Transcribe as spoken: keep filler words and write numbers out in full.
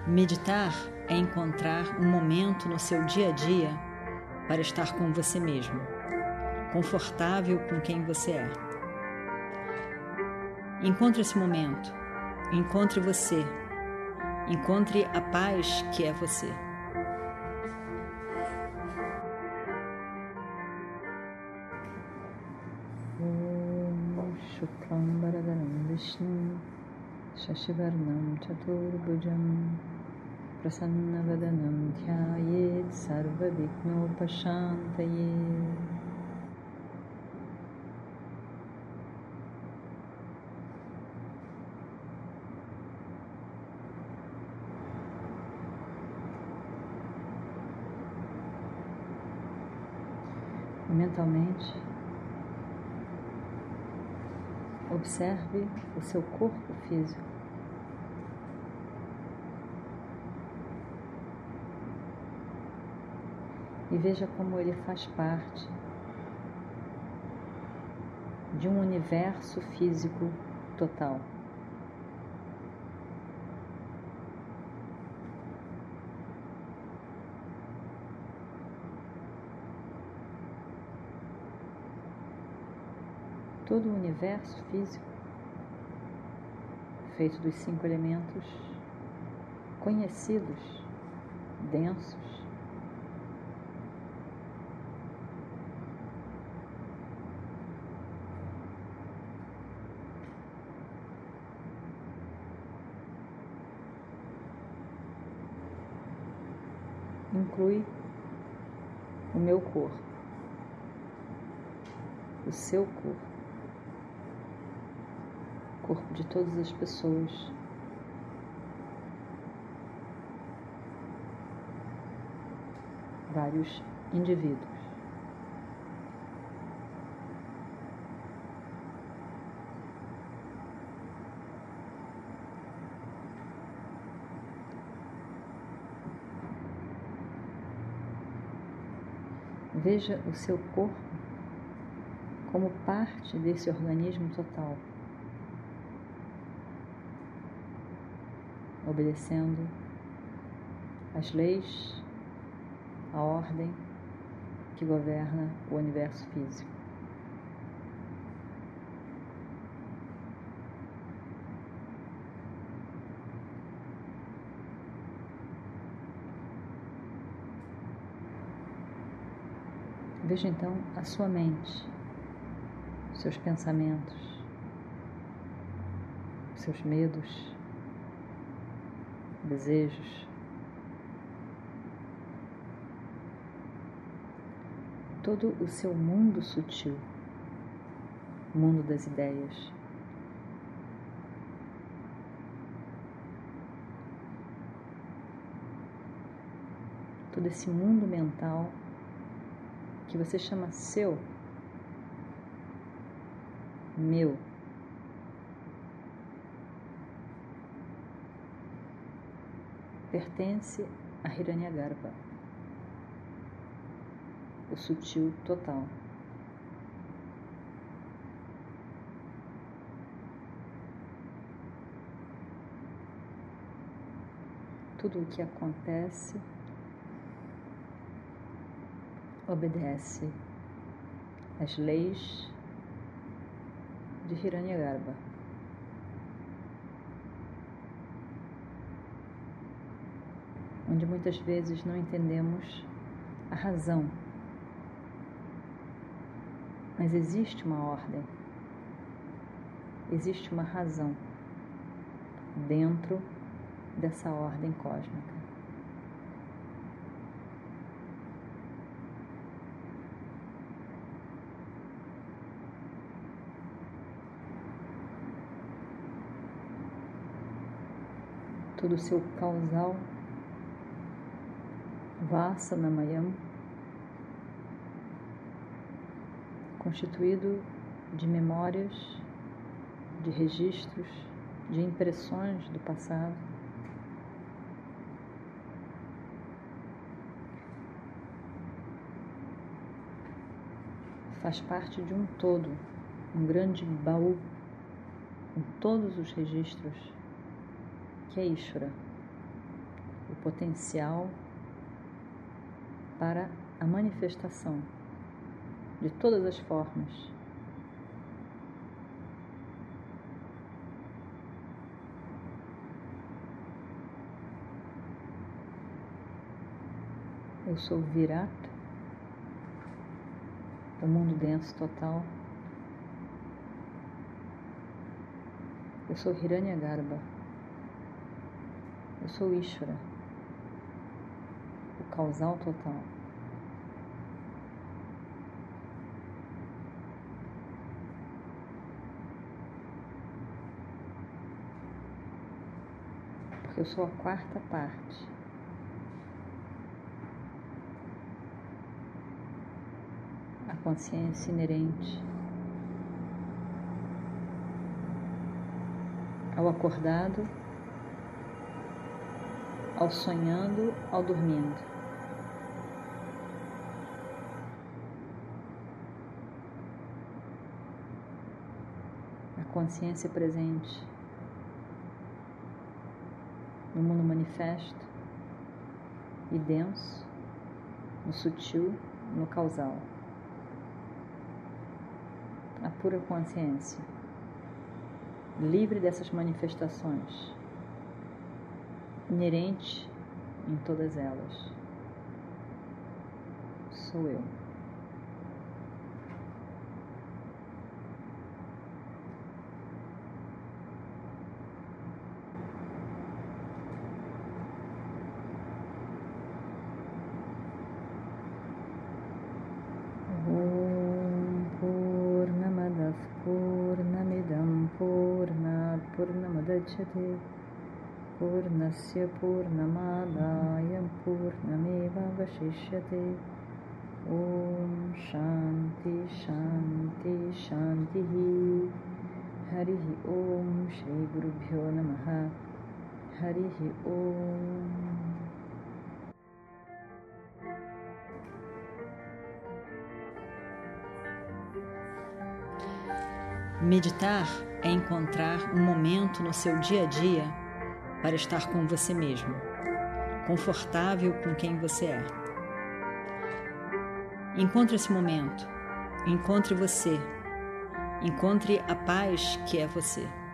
Meditar é encontrar um momento no seu dia a dia para estar com você mesmo, confortável com quem você é. Encontre esse momento, encontre você, encontre a paz que é você. Om Shuklam Bharadharam Vishnu Shashivarnam Chaturbhujam Prasannavadanam Dhyayet Sarva Vignopashantaye. Mentalmente, observe o seu corpo físico. E veja como ele faz parte de um universo físico total. Todo o universo físico, feito dos cinco elementos conhecidos, densos, inclui o meu corpo, o seu corpo, o corpo de todas as pessoas, vários indivíduos. Veja o seu corpo como parte desse organismo total, obedecendo às leis, à ordem que governa o universo físico. Veja então a sua mente, seus pensamentos, seus medos, desejos, todo o seu mundo sutil, mundo das ideias. Todo esse mundo mental que você chama seu, meu. Pertence a Hiranyagarbha, o sutil total. Tudo o que acontece obedece às leis de Hiranyagarbha. Onde muitas vezes não entendemos a razão, mas existe uma ordem, existe uma razão dentro dessa ordem cósmica. Todo o seu causal Vasanamayam, constituído de memórias, de registros, de impressões do passado, faz parte de um todo, um grande baú com todos os registros que é Ishvara, potencial para a manifestação de todas as formas. Eu sou Virata, o mundo denso total. Eu sou Hiranyagarbha. Eu sou Ishvara, o causal total. Porque eu sou a quarta parte. A consciência inerente ao acordado, ao sonhando, ao dormindo. A consciência presente no mundo manifesto e denso, no sutil, no causal. A pura consciência, livre dessas manifestações, inerente em todas elas. Sou eu. Purnamidam Purnat Purnamadachyate Purnasya Purnamadaya Purnameva Vashishyate. Om Shanti Shanti Shanti. Harihi Om Shri Gurubhyo Namaha. Harihi Om. Meditar é encontrar um momento no seu dia a dia para estar com você mesmo, confortável com quem você é. Encontre esse momento, encontre você, encontre a paz que é você.